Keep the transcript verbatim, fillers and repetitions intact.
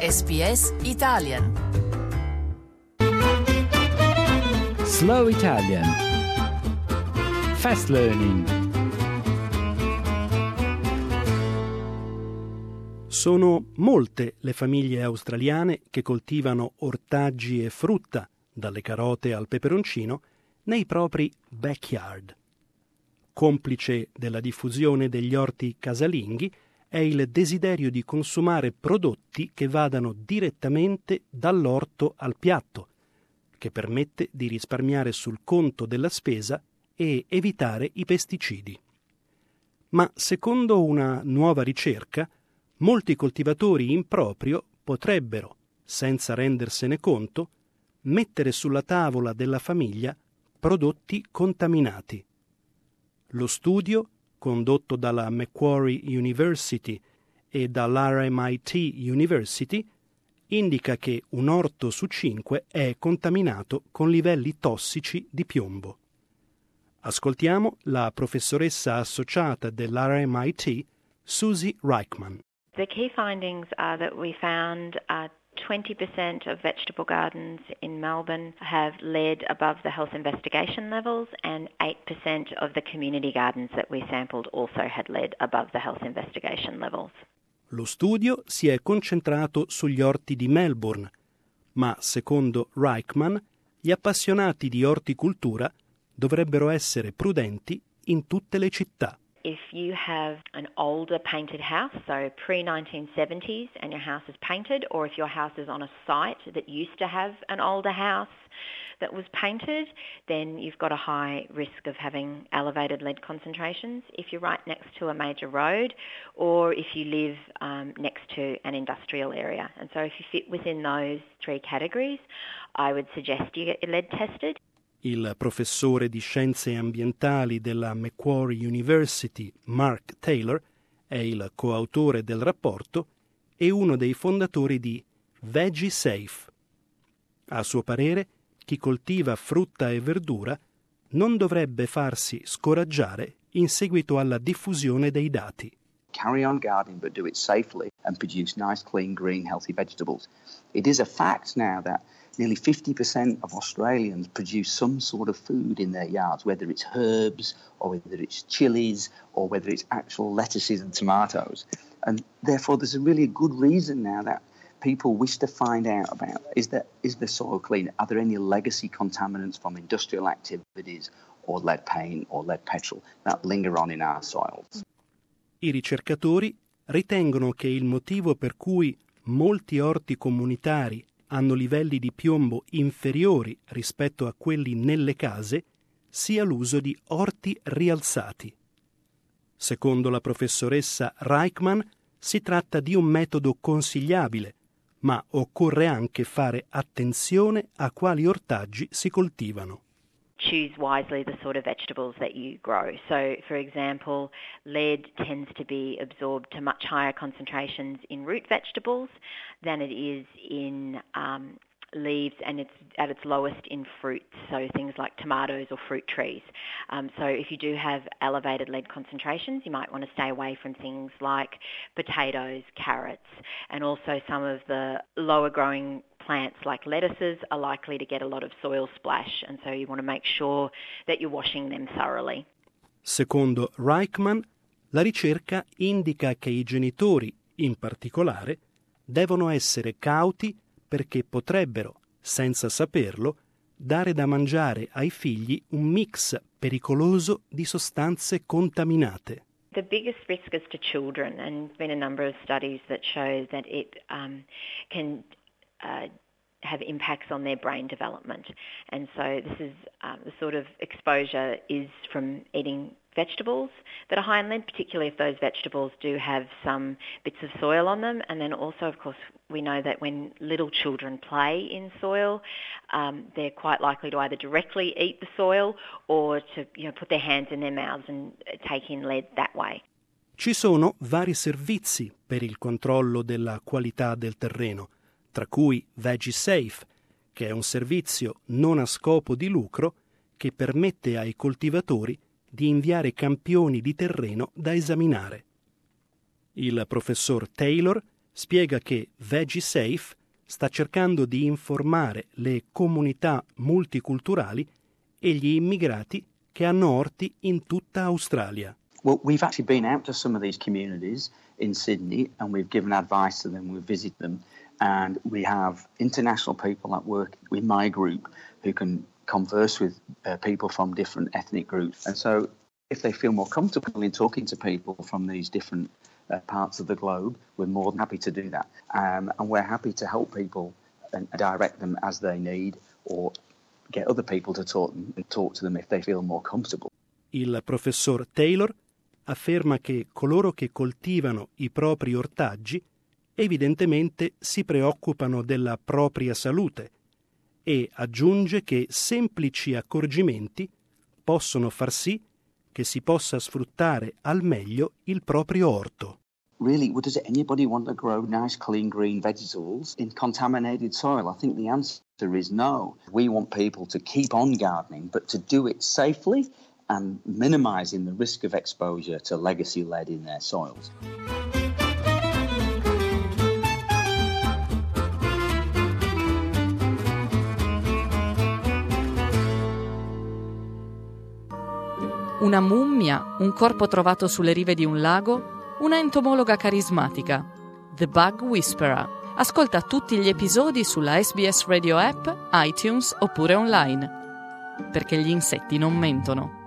S B S Italian. Slow Italian. Fast Learning. Sono molte le famiglie australiane che coltivano ortaggi e frutta, dalle carote al peperoncino, nei propri backyard. Complice della diffusione degli orti casalinghi è il desiderio di consumare prodotti che vadano direttamente dall'orto al piatto, che permette di risparmiare sul conto della spesa e evitare i pesticidi. Ma secondo una nuova ricerca, molti coltivatori in proprio potrebbero, senza rendersene conto, mettere sulla tavola della famiglia prodotti contaminati. Lo studio, condotto dalla Macquarie University e dall'R M I T University, indica che un orto su cinque è contaminato con livelli tossici di piombo. Ascoltiamo la professoressa associata dell'R M I T, Susie Reichman. The key findings are that we found uh, twenty percent of vegetable gardens in Melbourne have lead above the health investigation levels, and eight percent of the community gardens that we sampled also had lead above the health investigation levels. Lo studio si è concentrato sugli orti di Melbourne, ma secondo Reichman gli appassionati di orticoltura dovrebbero essere prudenti in tutte le città. If you have an older painted house, so pre nineteen seventies, and your house is painted, or if your house is on a site that used to have an older house that was painted, then you've got a high risk of having elevated lead concentrations. If you're right next to a major road, or if you live um, next to an industrial area. And so if you fit within those three categories, I would suggest you get your lead tested. Il professore di scienze ambientali della Macquarie University, Mark Taylor, è il coautore del rapporto e uno dei fondatori di VeggieSafe. A suo parere, chi coltiva frutta e verdura non dovrebbe farsi scoraggiare in seguito alla diffusione dei dati. Carry on gardening, but do it safely and produce nice, clean, green, healthy vegetables. It is a fact now that nearly fifty percent of Australians produce some sort of food in their yards, whether it's herbs or whether it's chilies or whether it's actual lettuces and tomatoes. And therefore there's a really good reason now that people wish to find out about, is, that, is the soil clean? Are there any legacy contaminants from industrial activities or lead paint or lead petrol that linger on in our soils? I ricercatori ritengono che il motivo per cui molti orti comunitari hanno livelli di piombo inferiori rispetto a quelli nelle case sia l'uso di orti rialzati. Secondo la professoressa Reichman, si tratta di un metodo consigliabile, ma occorre anche fare attenzione a quali ortaggi si coltivano. Choose wisely the sort of vegetables that you grow. So, for example, lead tends to be absorbed to much higher concentrations in root vegetables than it is in um, leaves, and it's at its lowest in fruits, so things like tomatoes or fruit trees. Um, so if you do have elevated lead concentrations, you might want to stay away from things like potatoes, carrots, and also some of the lower growing plants like lettuces are likely to get a lot of soil splash, and so you want to make sure that you're washing them thoroughly. Secondo Reichman, la ricerca indica che i genitori, in particolare, devono essere cauti perché potrebbero, senza saperlo, dare da mangiare ai figli un mix pericoloso di sostanze contaminate. The biggest risk is to children, and there's been a number of studies that show that it um, can Uh, have impacts on their brain development. And so this is um, the sort of exposure is from eating vegetables that are high in lead, particularly if those vegetables do have some bits of soil on them. And then also, of course, we know that when little children play in soil, um, they're quite likely to either directly eat the soil or to, you know, put their hands in their mouths and take in lead that way. Ci sono vari servizi per il controllo della qualità del terreno, tra cui VeggieSafe, che è un servizio non a scopo di lucro che permette ai coltivatori di inviare campioni di terreno da esaminare. Il professor Taylor spiega che VeggieSafe sta cercando di informare le comunità multiculturali e gli immigrati che hanno orti in tutta Australia. Well, we've actually been out to some of these communities in Sydney and we've given advice to them, we've visited them, and we have international people that work with my group who can converse with uh, people from different ethnic groups. And so if they feel more comfortable in talking to people from these different uh, parts of the globe, we're more than happy to do that. Um, and we're happy to help people and direct them as they need, or get other people to talk, talk to them if they feel more comfortable. Il professor Taylor afferma che coloro che coltivano i propri ortaggi evidentemente si preoccupano della propria salute e aggiunge che semplici accorgimenti possono far sì che si possa sfruttare al meglio il proprio orto. Really, well, does anybody want to grow nice, clean, green vegetables in contaminated soil? I think the answer is no. We want people to keep on gardening, but to do it safely and minimizing the risk of exposure to legacy lead in their soils. Una mummia, un corpo trovato sulle rive di un lago, una entomologa carismatica. The Bug Whisperer. Ascolta tutti gli episodi sulla S B S Radio App, iTunes oppure online. Perché gli insetti non mentono.